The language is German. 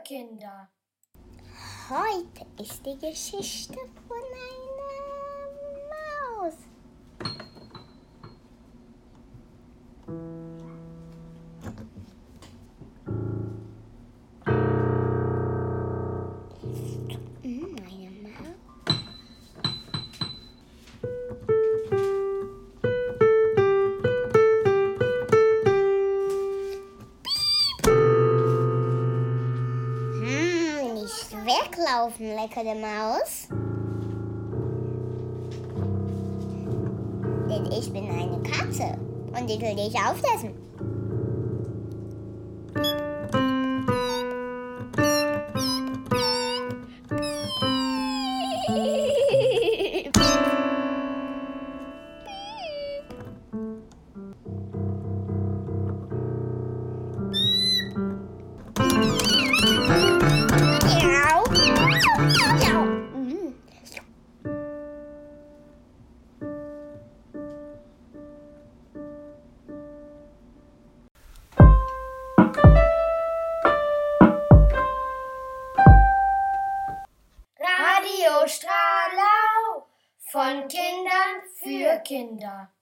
Kinder. Heute ist die Geschichte von einer Maus. Eine Maus. Nicht weglaufen, leckere Maus. Denn ich bin eine Katze und ich will dich aufessen. Radio Stralau von Kindern für Kinder.